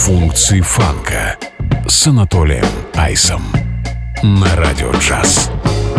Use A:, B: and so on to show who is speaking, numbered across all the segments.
A: Функции фанка с Анатолием Айсом на Радио Джаз.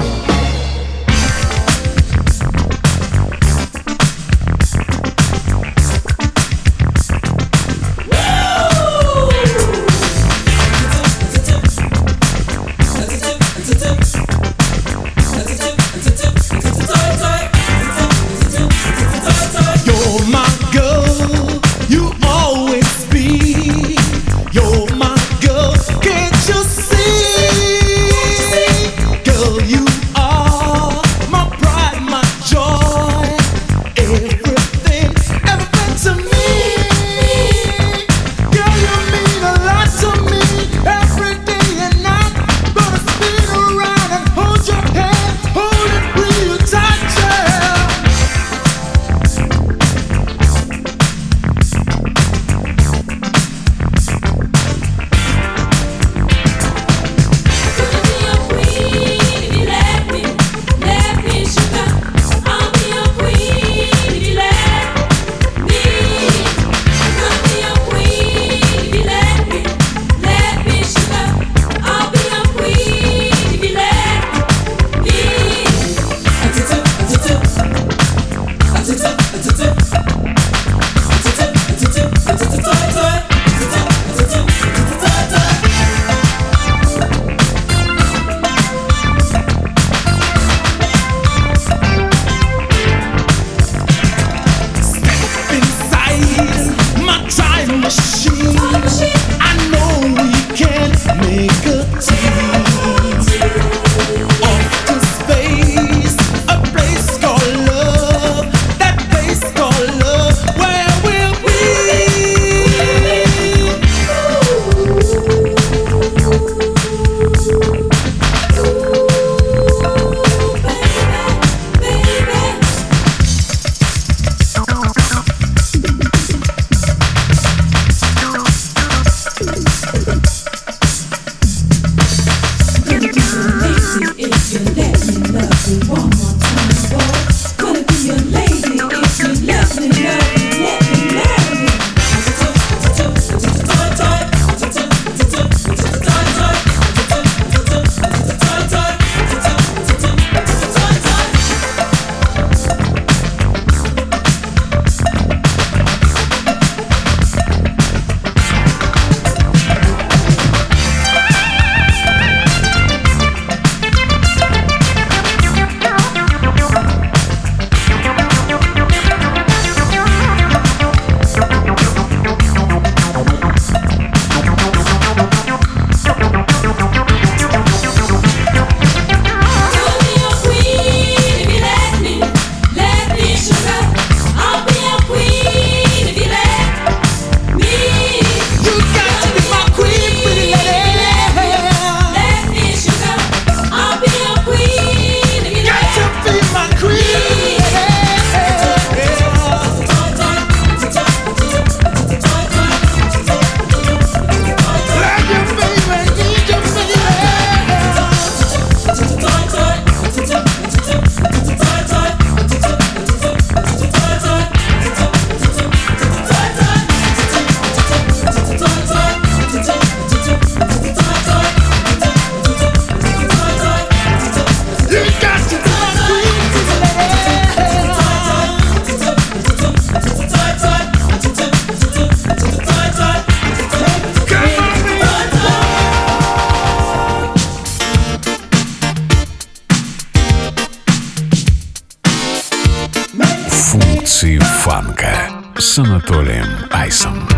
A: Функции фанка с Анатолием Айсом.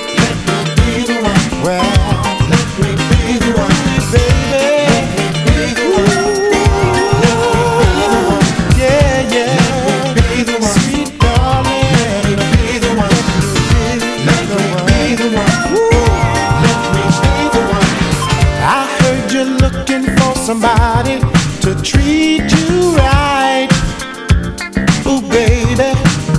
B: Somebody to treat you right, oh baby.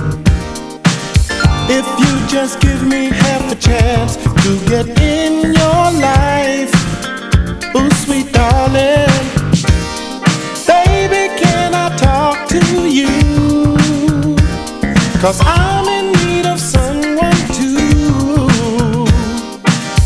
B: If you just give me half a chance to get in your life, oh sweet darling, baby, can I talk to you? 'Cause I'm in need of someone to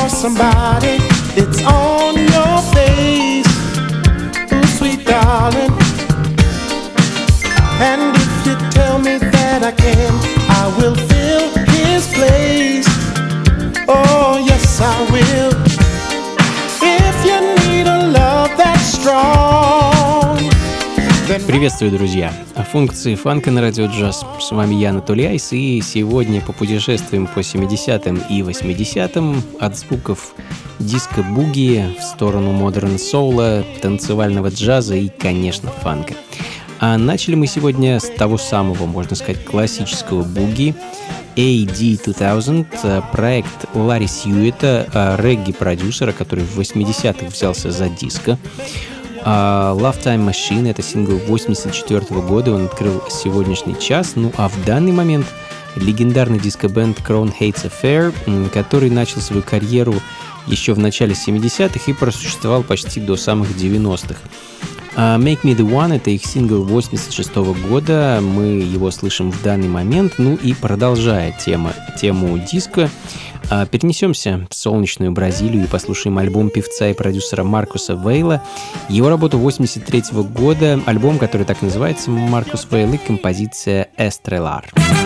B: somebody, it's on your face. Ooh, sweet darling. And if you tell me that I can, I will fill his place. Oh, yes, I will. If you need a love that's strong.
C: Приветствую, друзья! О функции фанка на радио джаз. С вами я, Анатолий Айс, и сегодня попутешествуем по 70-м и 80-м от звуков диско-буги в сторону модерн-соула, танцевального джаза и, конечно, фанка. А начали мы сегодня с того самого, можно сказать, классического буги AD2000, проект Ларри Сьюита, регги-продюсера, который в 80-х взялся за диско. Love Time Machine — это сингл 84 года, он открыл сегодняшний час. Ну а в данный момент легендарный диско-бенд Crown Hates Affair, который начал свою карьеру еще в начале 70-х и просуществовал почти до самых 90-х. Make Me The One — это их сингл 86 года, мы его слышим в данный момент. Ну и продолжая тему диско, перенесемся в солнечную Бразилию и послушаем альбом певца и продюсера Маркуса Вейла. Его работу 83 года, альбом, который так называется, Маркус Вейл, и композиция «Estrellar».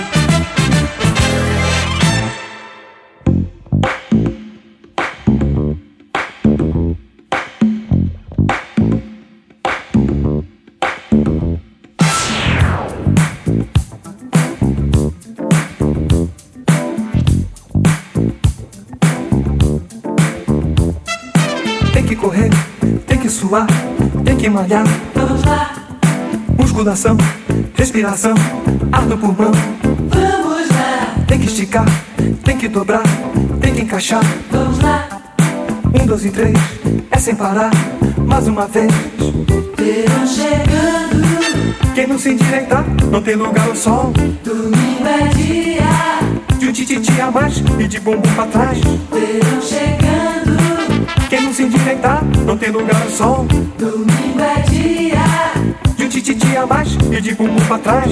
D: Tem que malhar, vamos lá. Musculação, respiração, ar no pulmão, vamos lá. Tem que esticar, tem que dobrar, tem que encaixar, vamos lá. 1, 2 e 3, é sem parar, mais uma vez. Verão chegando, quem não se endireitar, não tem lugar ao sol. Domingo é dia de tititi a mais e de bumbum pra trás. Verão chegando, quem não se endireitar, não tem lugar ao sol. Domingo é dia de tititi a mais e de bumbum pra trás.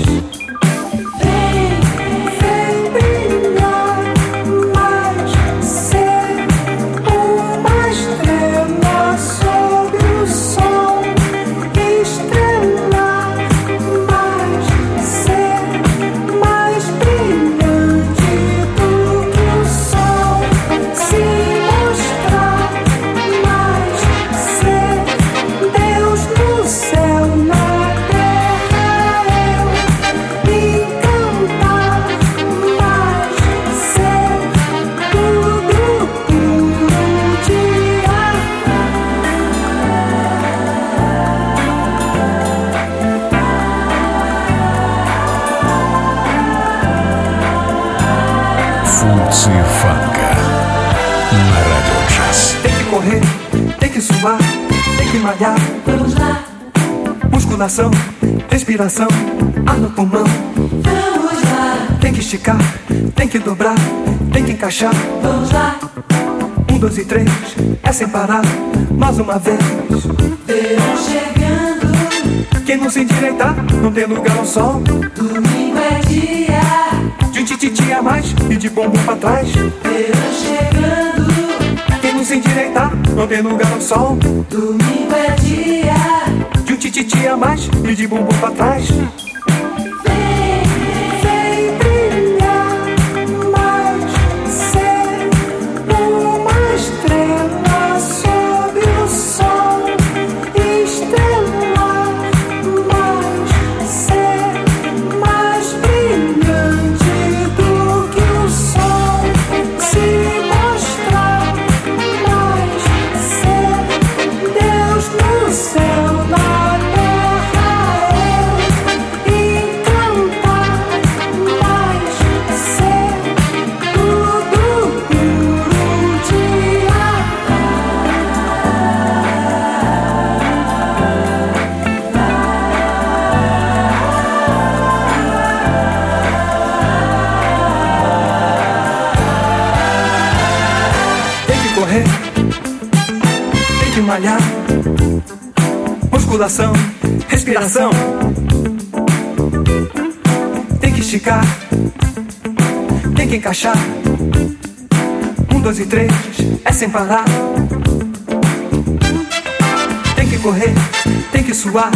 A: Функции фанка на радио джаз.
D: Tem que correr, tem que suar, tem que malhar, vamos lá. Musculação, respiração, ar no pulmão, vamos lá. Tem que esticar, tem que dobrar, tem que encaixar, vamos lá. 1, 2 e 3, é sem parar, mais uma vez. Verão chegando, quem não se endireitar, não tem lugar ao sol. Domingo é dia de tititi a mais e de bumbum pra trás. Verão chegando, quem não se endireitar, não tem lugar ao sol. Domingo é dia de tititi a mais e de bumbum pra trás. Malhar, musculação, respiração, tem que esticar, tem que encaixar. 1, 2 e 3, é sem parar. Tem que correr, tem que suar.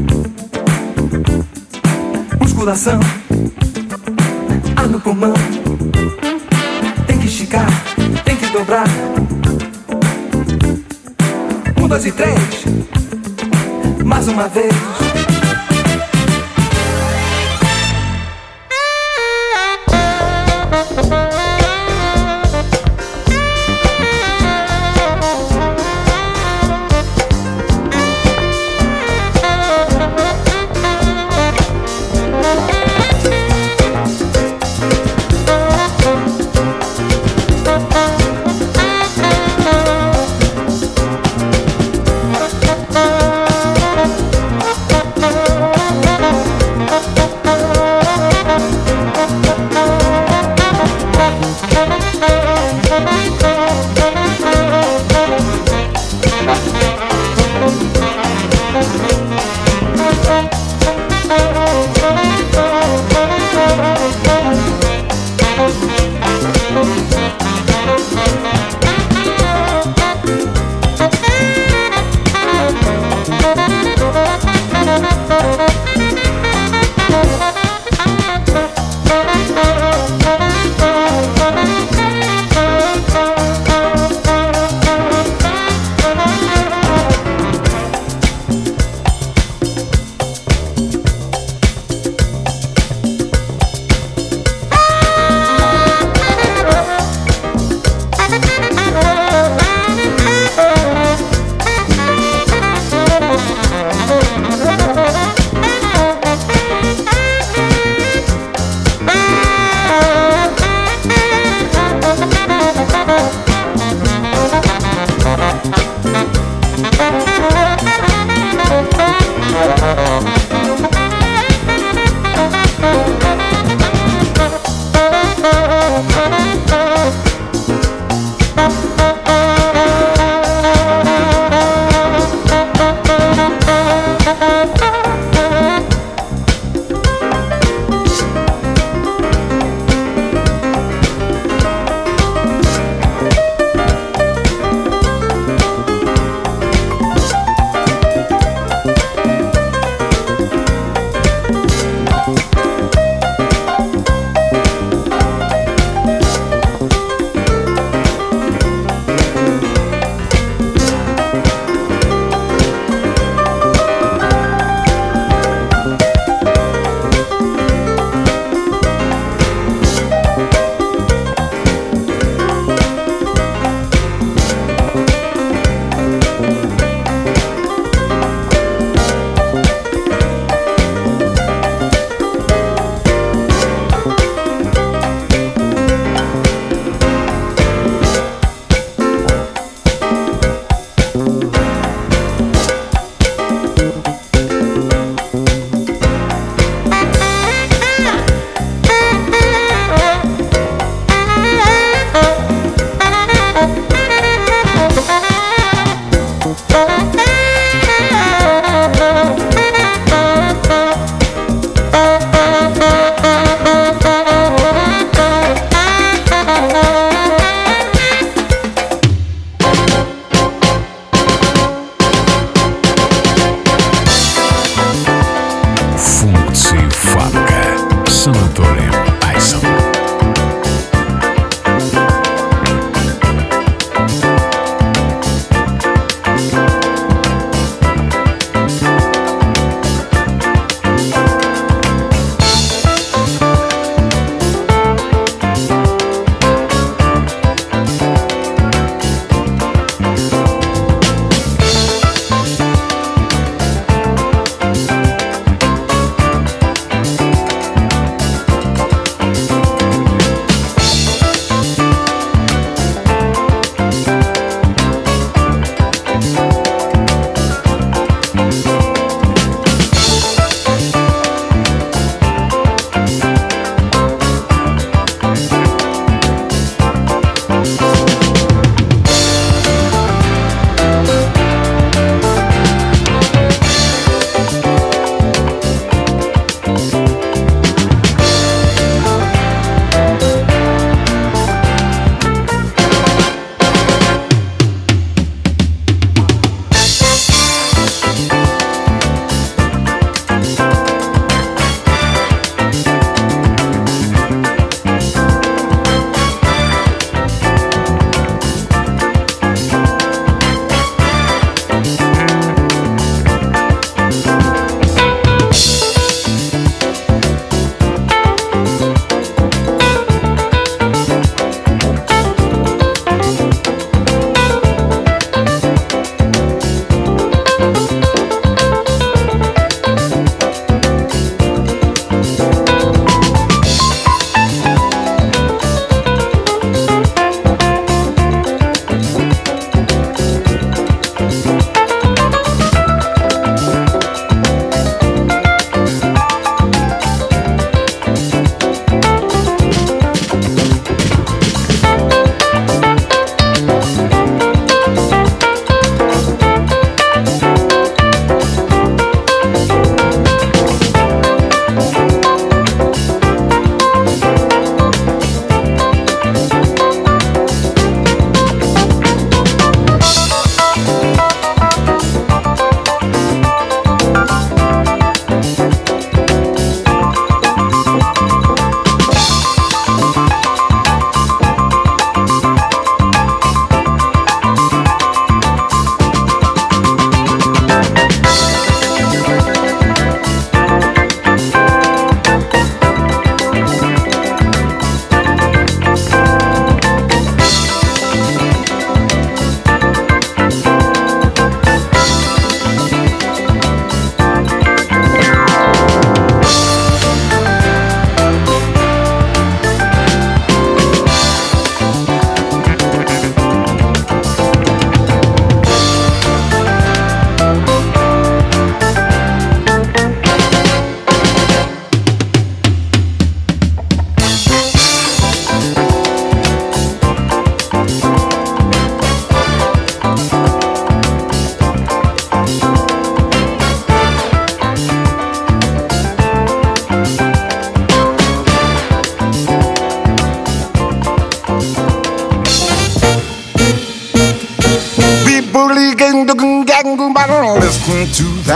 D: Musculação, ar no pulmão. Tem que esticar, tem que dobrar. 1, 2 e 3, mais uma vez.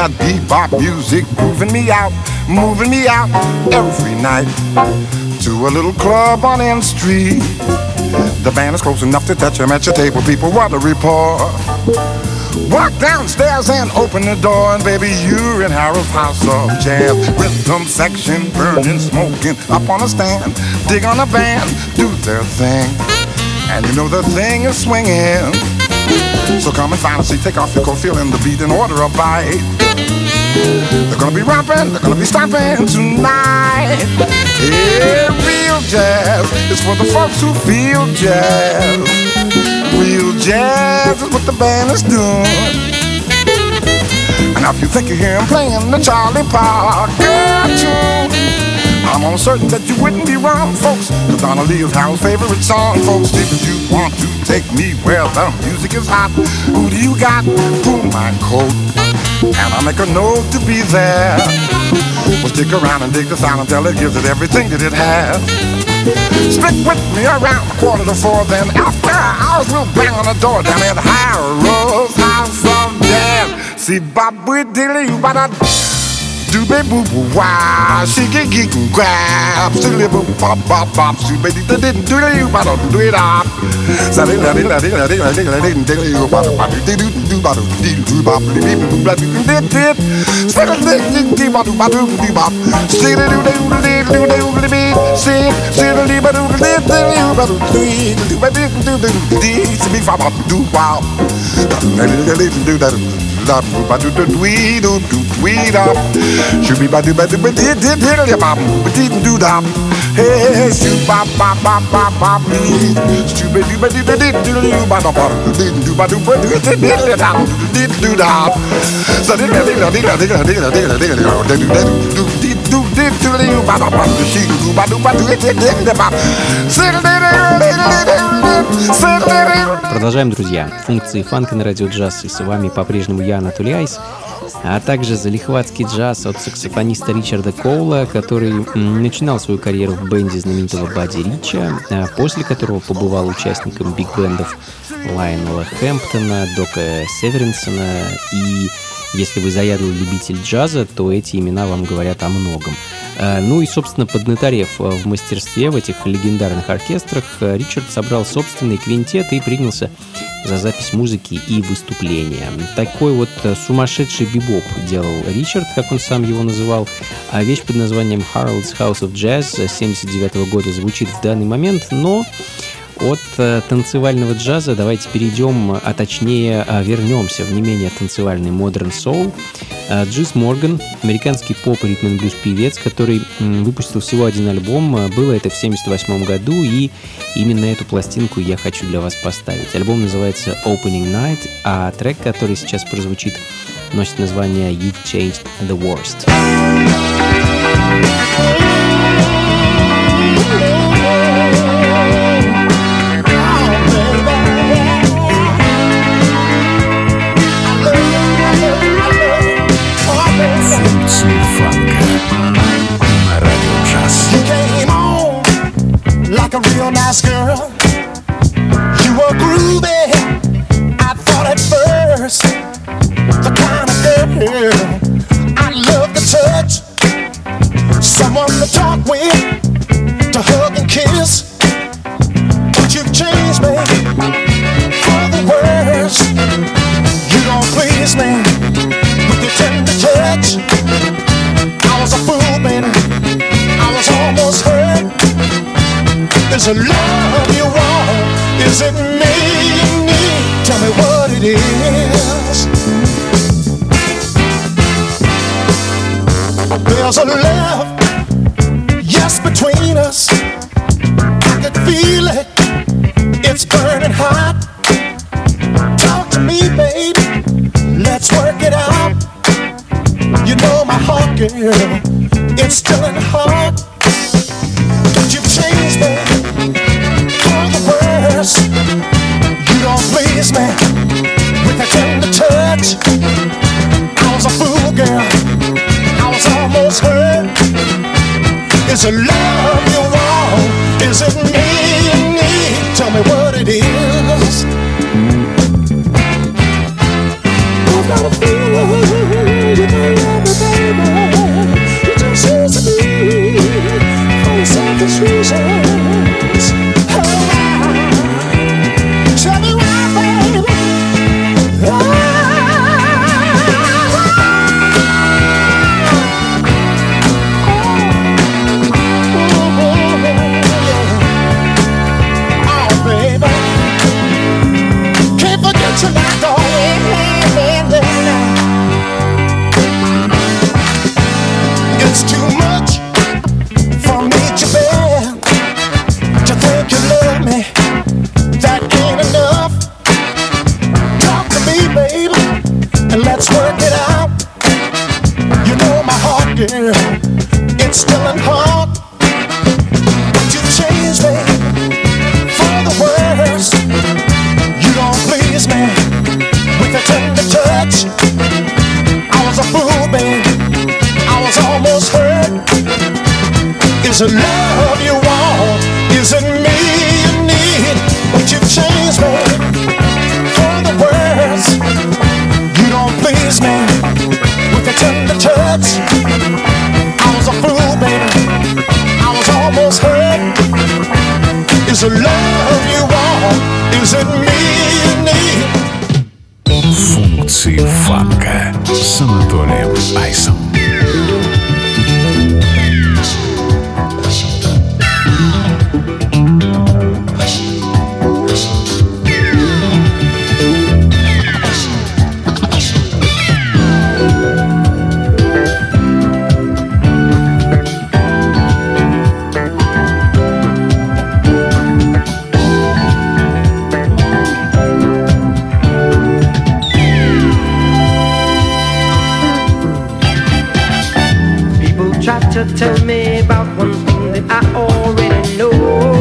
E: that bebop music, moving me out every night to a little club on N Street. The band is close enough to touch 'em at your table. People, what a report. Walk downstairs and open the door, and baby, you're in Harold's house of jazz. Rhythm section, burning, smoking, up on a stand. Dig on a band, do their thing, and you know the thing is swinging. So come and find a seat, take off your coat, feeling the beat, and order a bite. They're gonna be romping, they're gonna be stomping tonight. Yeah, real jazz is for the folks who feel jazz. Real jazz is what the band is doing. And now if you think you hear him playing the Charlie Parker tune, I'm almost certain that you wouldn't be wrong, folks. Cause Donna Lee is Harold's favorite song, folks. If you want to take me where the music is hot, who do you got? Pull my coat, and I'll make a note to be there. Well, stick around and dig the sound until it gives it everything that it has. Stick with me around 3:45, then after hours we'll bang on the door down at Harold's House of Jazz. See, Bob, we dilly, but I do be boo boo wow, she get geek and grab, silly boo bop bop bop, she baby didn't do you, but don't do it up. Sally la di la di la di la di la di la di bop bop do do do bop do bop do bop did did. Still di bop do bop do bop. Still do do do do do be. Still di bop do did you bop do do bop do do do be bop do wow. Do that. Do do do do do up. Should be ba do ba do ba did bop do that. Hey, shoot bop bop bop bop bop. Should be do ba do do ba do ba do ba do that. So did
C: Продолжаем, друзья. Функции фанка на радио джаз. И с вами по-прежнему я, Анатолий Айс. А также залихватский джаз от саксофониста Ричарда Коула, который начинал свою карьеру в бенде знаменитого Бадди Рича, после которого побывал участником биг-бендов Лайонела Хэмптона, Дока Северинсона. И если вы заядлый любитель джаза, то эти имена вам говорят о многом. Ну и, собственно, поднаторев в мастерстве в этих легендарных оркестрах, Ричард собрал собственный квинтет и принялся за запись музыки и выступления. Такой вот сумасшедший бибоп делал Ричард, как он сам его называл, а вещь под названием Harold's House of Jazz 1979 года звучит в данный момент, но от танцевального джаза давайте перейдем, а точнее вернемся в не менее танцевальный Modern Soul. Джис Морган, американский поп, ритм-н-блюз певец, который выпустил всего один альбом. Было это в 1978 году, и именно эту пластинку я хочу для вас поставить. Альбом называется Opening Night, а трек, который сейчас прозвучит, носит название You've Changed the Worst.
B: Like a real nice girl, you were groovy, I thought at first. The kind of girl I love to touch, someone to talk with, to hug and kiss. But you've changed me for the worse. You don't please me with your tender touch. I was a fool, baby, I was almost hurt. Is it love you want? Is it me you need? Tell me what it is. There's a love, yes, between us. I could feel it, it's burning hot. Talk to me, baby, let's work it out. You know my heart, girl, it's still in the heart. But you've changed me for the worse. You don't please me with a tender touch. I was a fool, girl, I was almost hurt. Is it love you want? Is it me you need? Tell me what it is. I've got a feeling it love you want? Is it me you need? Would you change me for the words? You don't please me with a tender touch. I was a fool, baby. I was almost hurt. Is it love you want? Is it me you need?
A: Функции фанка с Анатолием Айсом.
F: To tell me about one thing that I already know.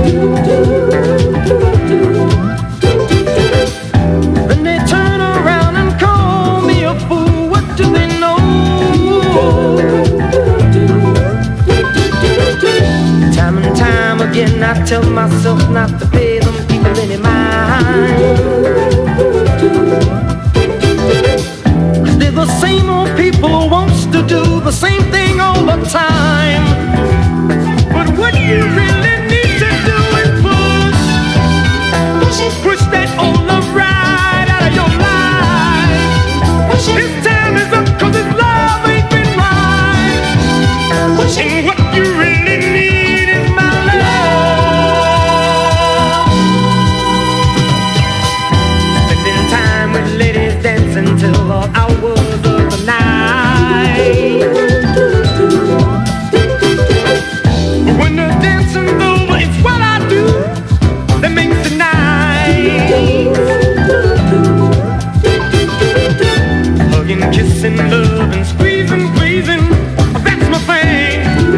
F: Then they turn around and call me a fool. What do they know? Time and time again I tell myself not to pay them people any mind. 'Cause they're the same old people who wants to do the same thing all the time. But what you really need to do is push that old love right out of your life. His time is up 'cause his love ain't been right. And what you really need is my love. Spending time with ladies dancing till all hours of the night. When the dancing's over, it's what I do that makes the night. Hugging, kissing, loving, squeezing, pleasing, that's my thing.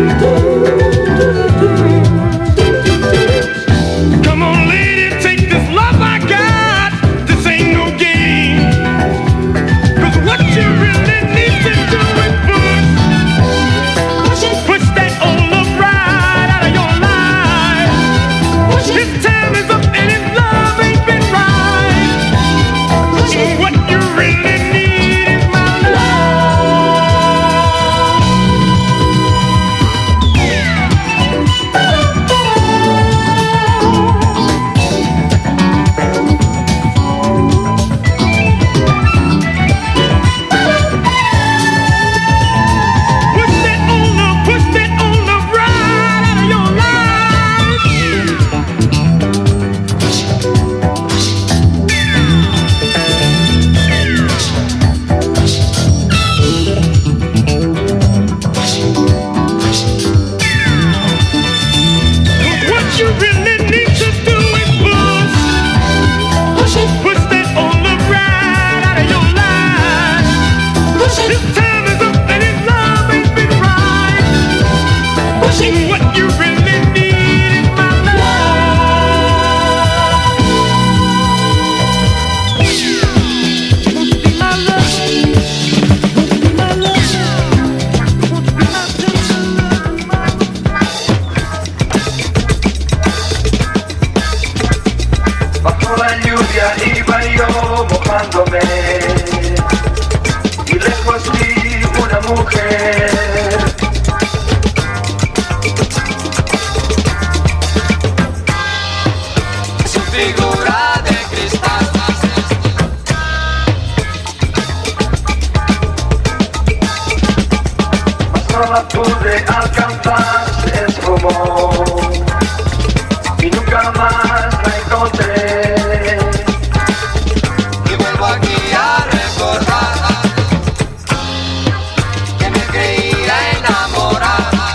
F: Come on, lady, take this love I got. This ain't no game. 'Cause what you really need to do is push that old love right out of your life. His time is up and his love ain't been right. What you really need is my push that old love right out of your life. What you really need to do is push that old love right out of your life. His time is up and his love ain't been right. What you really need is my love. Be my love. Be my love. Be my tender love.
D: Bajo la lluvia iba yo mojándome y lejos vi una mujer. Su figura de cristal. Mas no la pude alcanzar, se esfumó y nunca más la encontré. Y vuelvo aquí a recordar que me creía enamorada.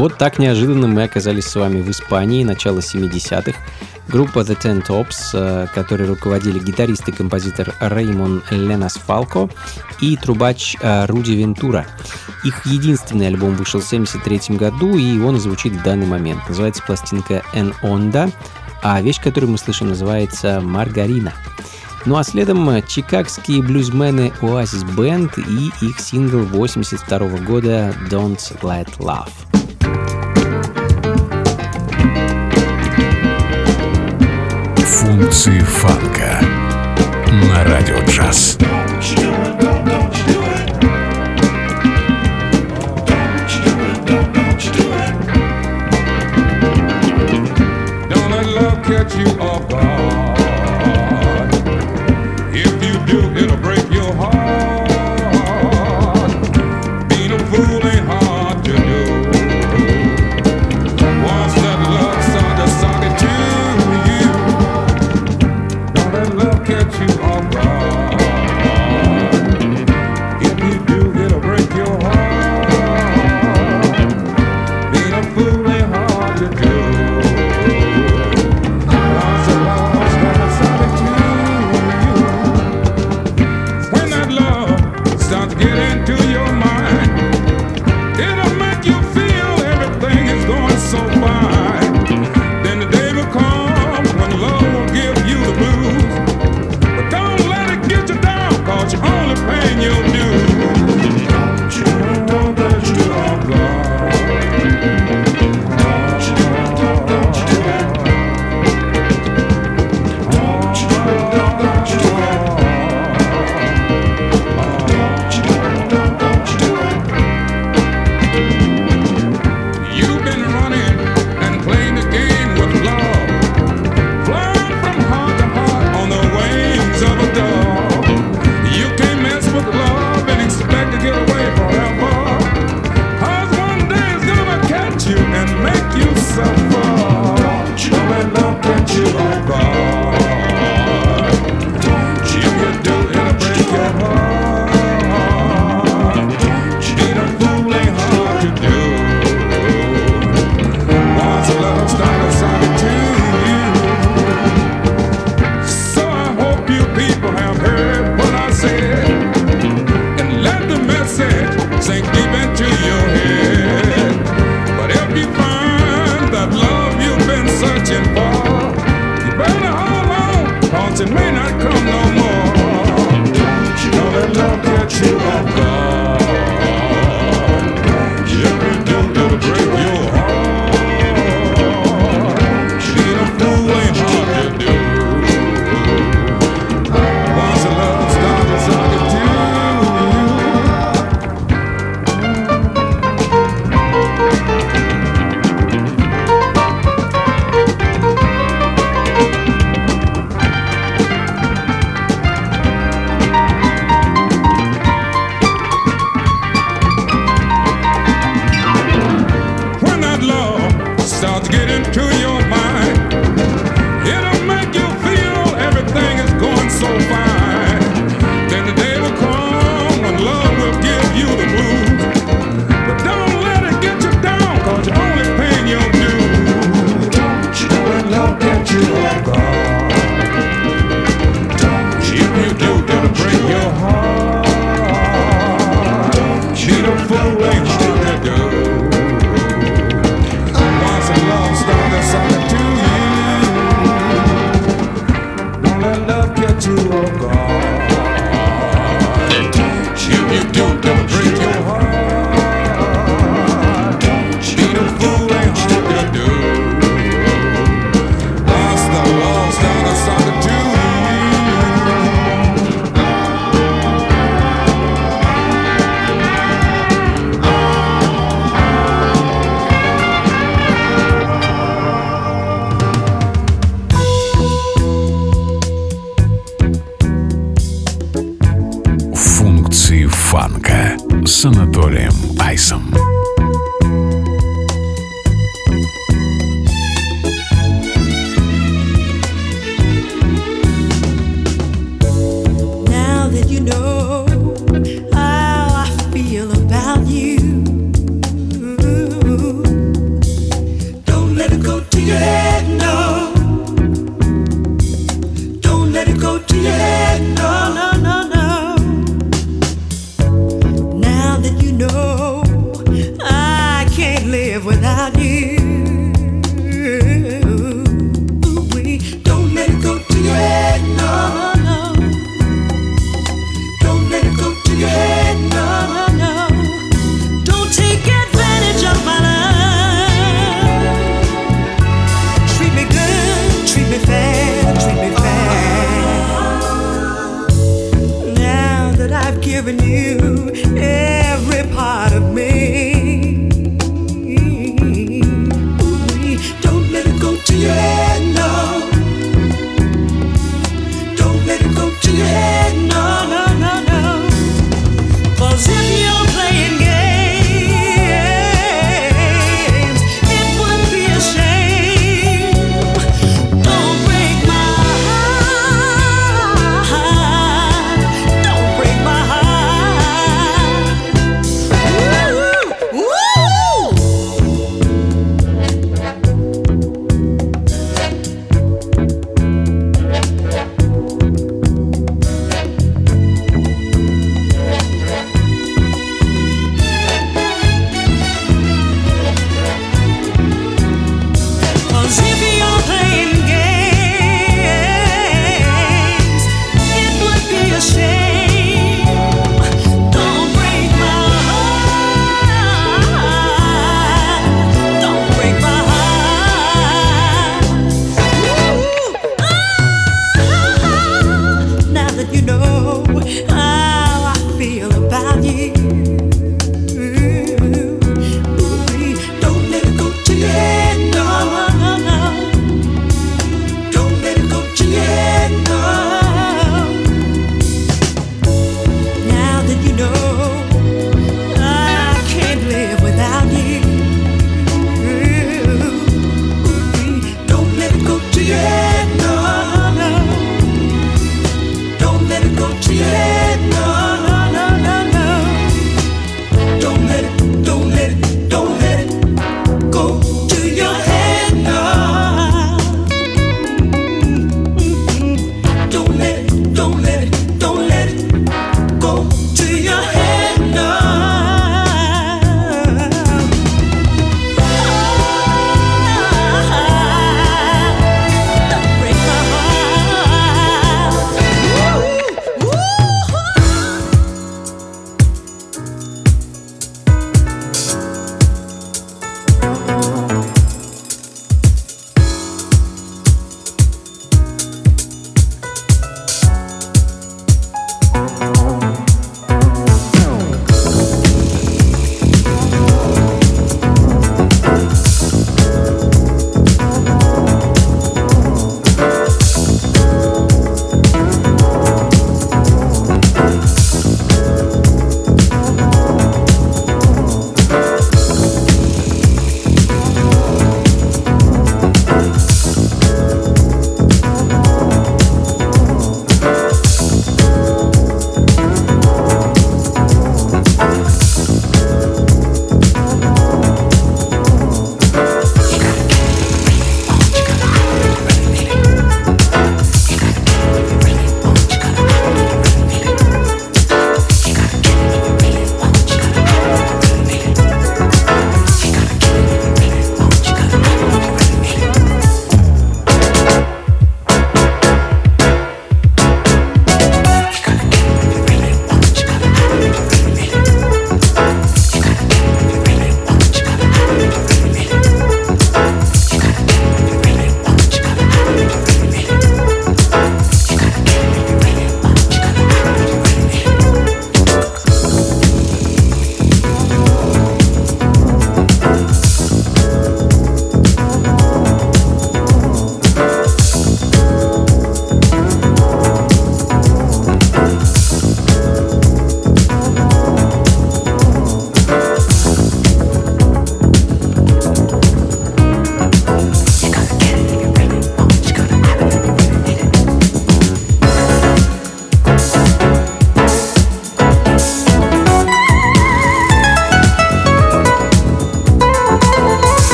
C: Вот так неожиданно мы оказались с вами в Испании, начало 70-х. Группа The Ten Tops, которой руководили гитарист и композитор Реймон Ленас Фалко и трубач Руди Вентура. Их единственный альбом вышел в 1973 году, и он звучит в данный момент. Называется пластинка «En Onda», а вещь, которую мы слышим, называется «Маргарина». Ну а следом чикагские блюзмены Oasis Band и их сингл 1982 года «Don't Let Love».
A: Функции фанка на радио джаз.
G: Catch you off guard. If you do, it'll break your heart. Being a fool ain't hard to do. Once that love song just sung it to you. Don't let love catch you off guard.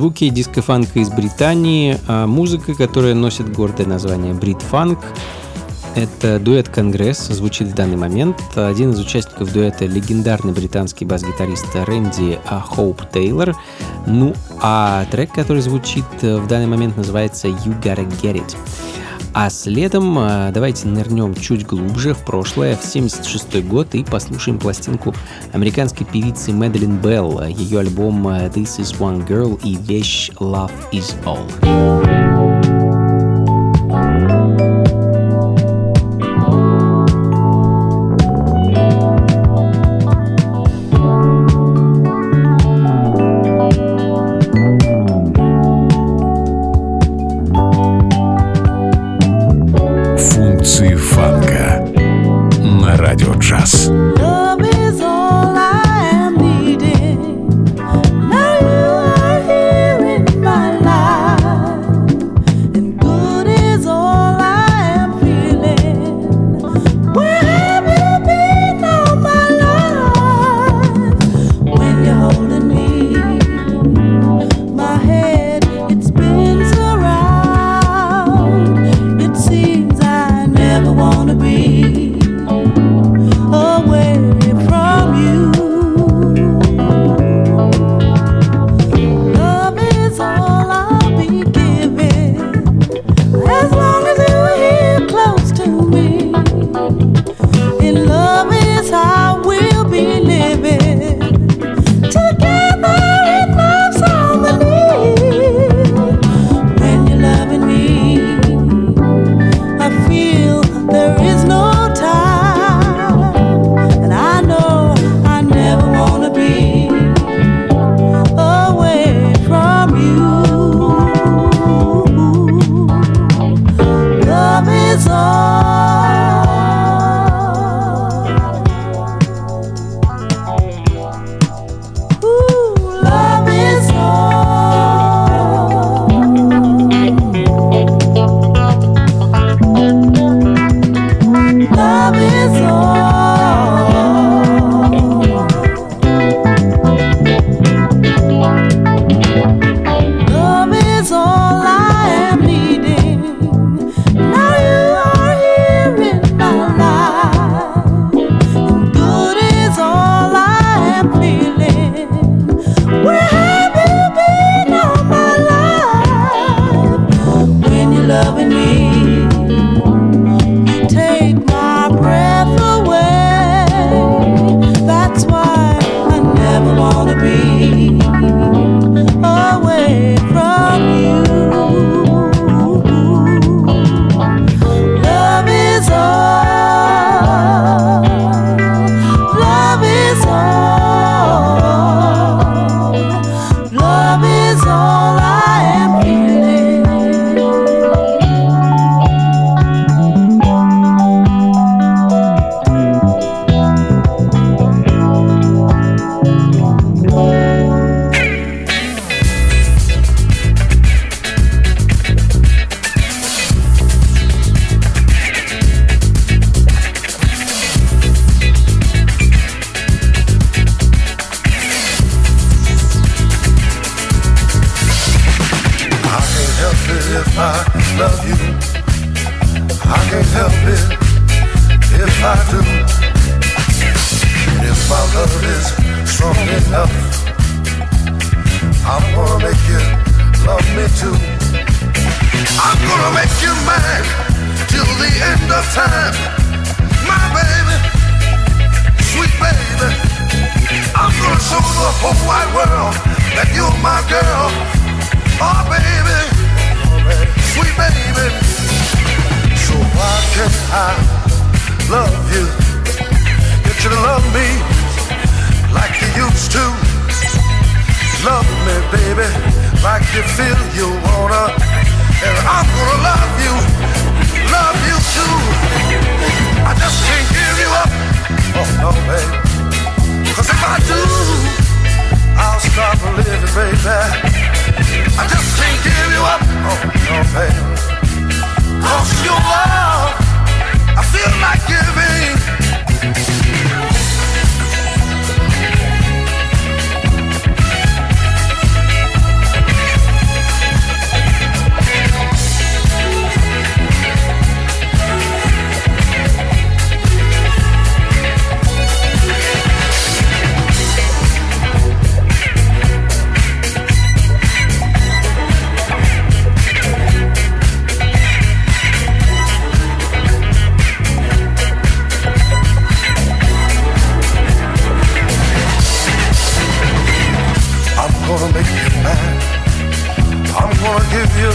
C: Звуки диско-фанка из Британии, музыка, которая носит гордое название брит-фанк. Это дуэт «Конгресс», звучит в данный момент. Один из участников дуэта — легендарный британский бас-гитарист Рэнди Хоуп Тейлор. Ну, а трек, который звучит в данный момент, называется «You Gotta Get It». А следом давайте нырнем чуть глубже в прошлое, в 1976 год, и послушаем пластинку американской певицы Мэдалин Белл, ее альбом «This Is One Girl» и вещь «Love Is All».
A: Фанка на радио джаз.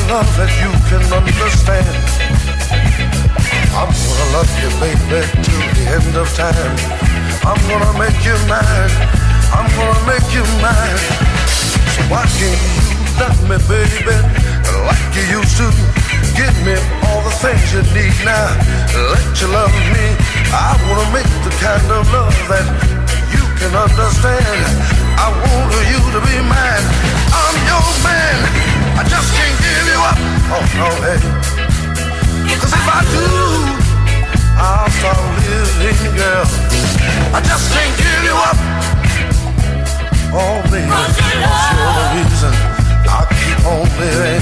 E: love that you can understand. I'm gonna love you, baby, till the end of time. I'm gonna make you mine. I'm gonna make you mine. So why can't you love me, baby, like you used to? Give me all the things you need now. Let you love me. I wanna make the kind of love that you can understand. I want you to be mine. I'm your man. I just can't give you up. Oh no, hey. 'Cause if I do, I'll start living, girl. I just can't give you up. Oh baby, you're the reason I keep on living.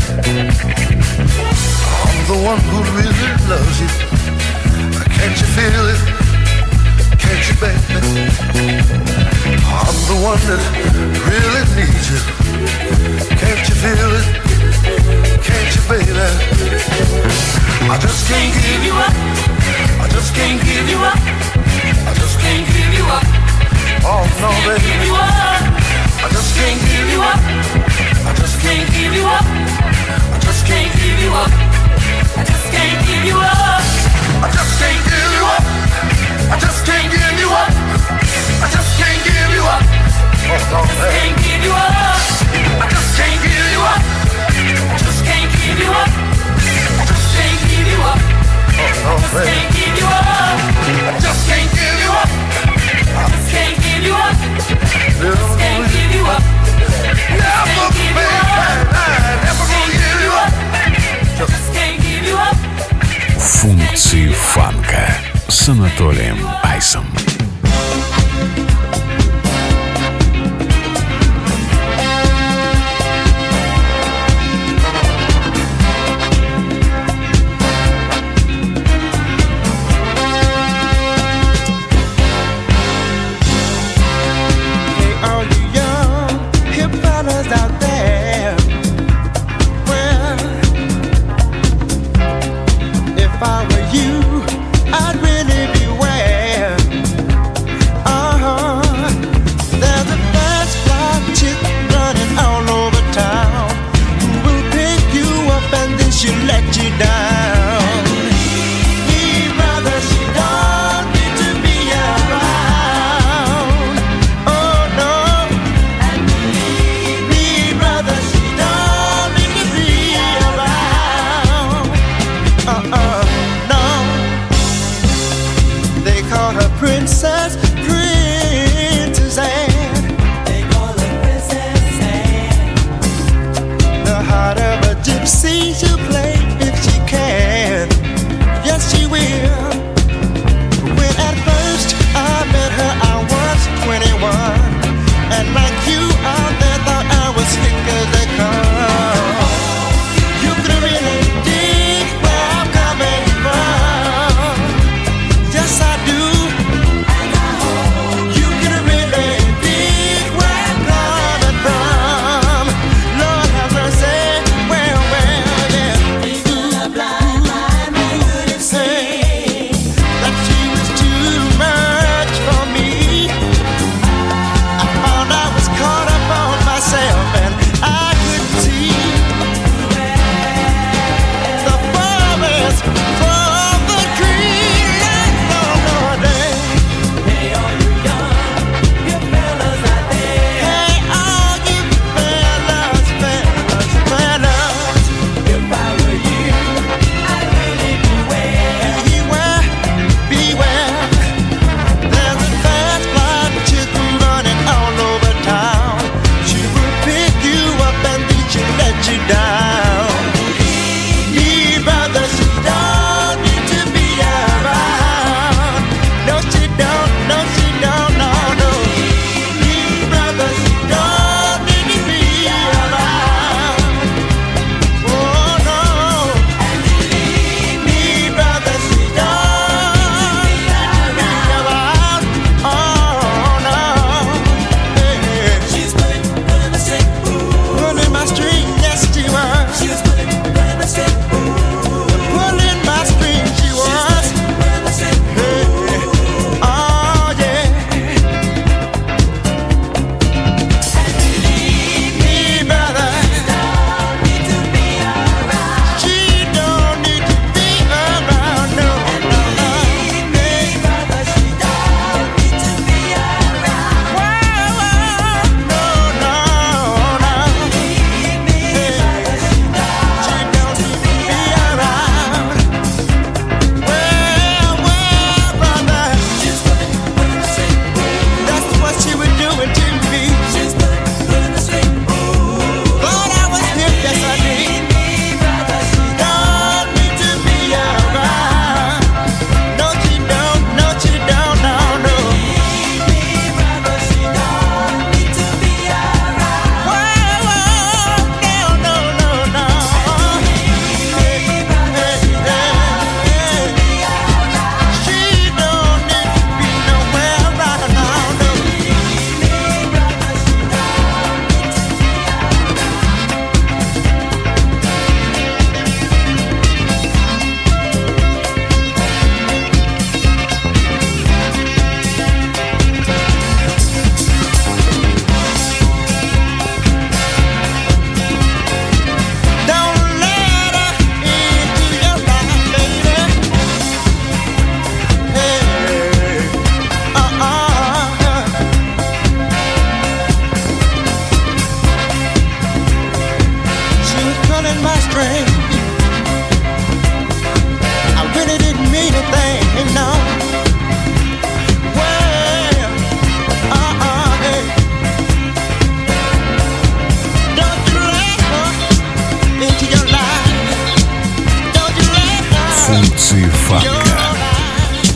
E: I'm the one who really loves you. Can't you feel it? Can't you, baby? I'm the one that really needs you. Can't you feel it? Can't you, baby? I just can't give you up. I just can't give you up. I just can't give you up. Oh no, baby. I just can't give you up. I just can't give you up. I just can't give you up. I just can't give you up. I just can't give you up. I just can't give you up. I just can't give you up. Oh no, baby. I just can't give you up. I just can't give you up. I just can't give you up. I just can't give you up. Oh no, baby. I just can't give you up. I just can't give you up. I just can't give you up. I just can't give you up. Never, baby, never gonna give you up. Just can't give you up.
A: Функции фанка с Анатолием Айсом.
B: If I were you, I'd really beware.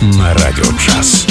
A: на Радио Джаз.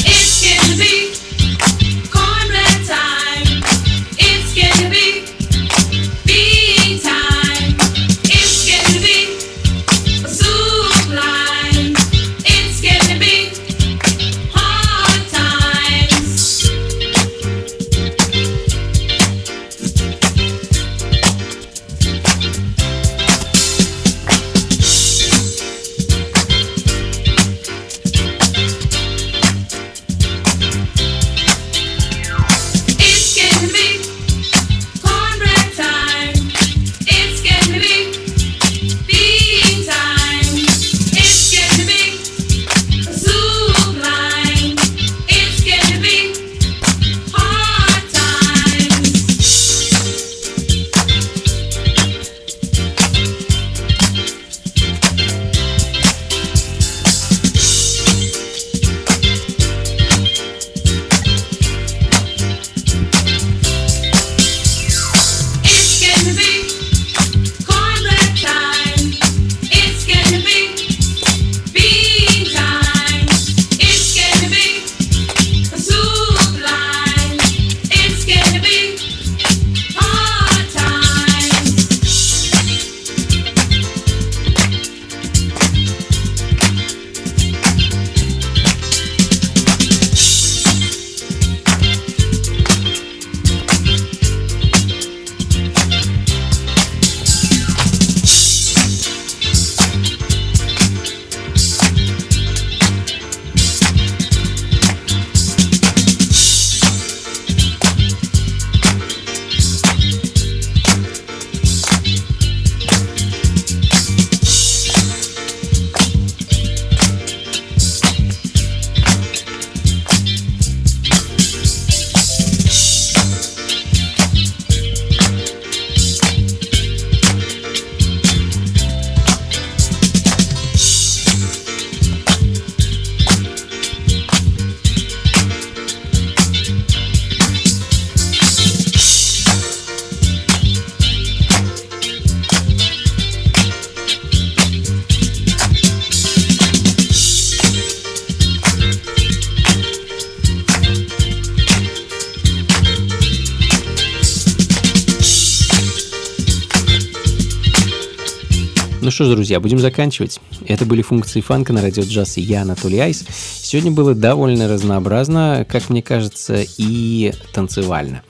C: Ну что ж, друзья, будем заканчивать. Это были функции фанка на Радио Джаз, и я, Анатолий Айс. Сегодня было довольно разнообразно, как мне кажется, и танцевально.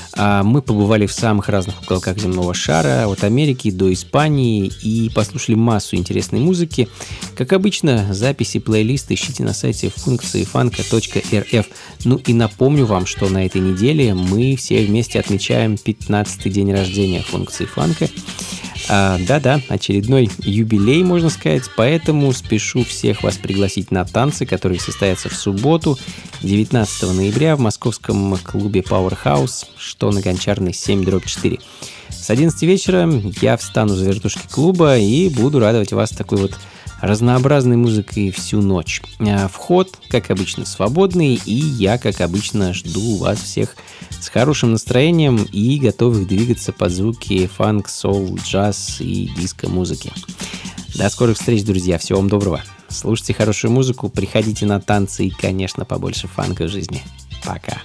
C: Мы побывали в самых разных уголках земного шара, от Америки до Испании, и послушали массу интересной музыки. Как обычно, записи плейлиста ищите на сайте функциифанка.рф. Ну и напомню вам, что на этой неделе мы все вместе отмечаем 15-й день рождения функции фанка. Да-да, очередной юбилей, можно сказать, поэтому спешу всех вас пригласить на танцы, которые состоятся в субботу, 19 ноября в московском клубе Powerhouse, что на Гончарной 7/4. С 11 вечера я встану за вертушки клуба и буду радовать вас такой вот разнообразной музыкой всю ночь. Вход, как обычно, свободный, и я, как обычно, жду вас всех с хорошим настроением и готовых двигаться под звуки фанк, соул, джаз и диско-музыки. До скорых встреч, друзья. Всего вам доброго. Слушайте хорошую музыку, приходите на танцы и, конечно, побольше фанка в жизни. Пока.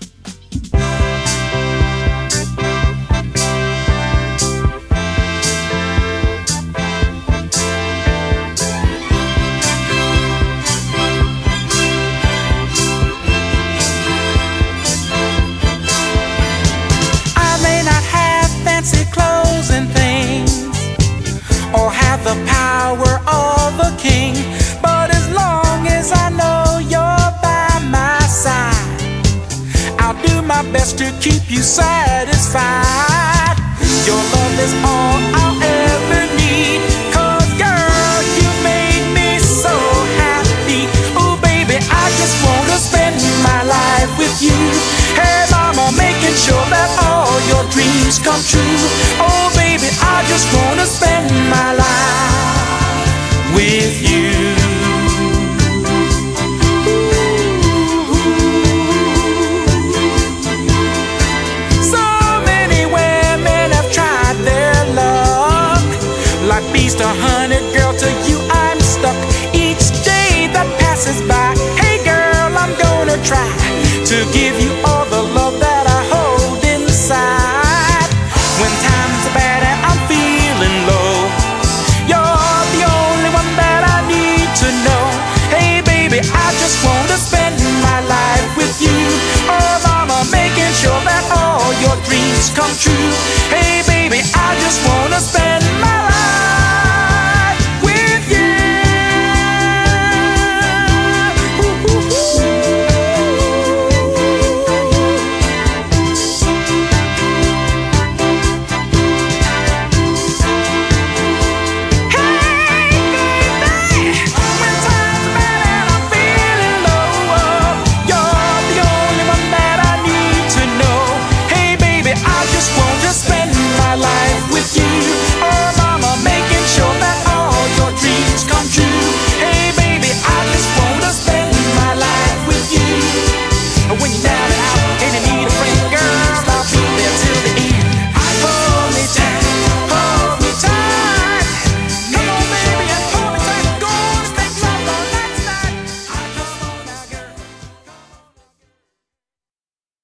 B: Clothes and things, or have the power of a king, but as long as I know you're by my side, I'll do my best to keep you satisfied. Your love is all I'll ever need, 'cause girl, you made me so happy. Oh baby, I just wanna spend my life with you. Hey mama, making sure that all your dreams come true. Oh baby, I just wanna spend my life with you. So many women have tried their luck, like bees to honey, girl, to you I'm stuck. Each day that passes by,
H: to give you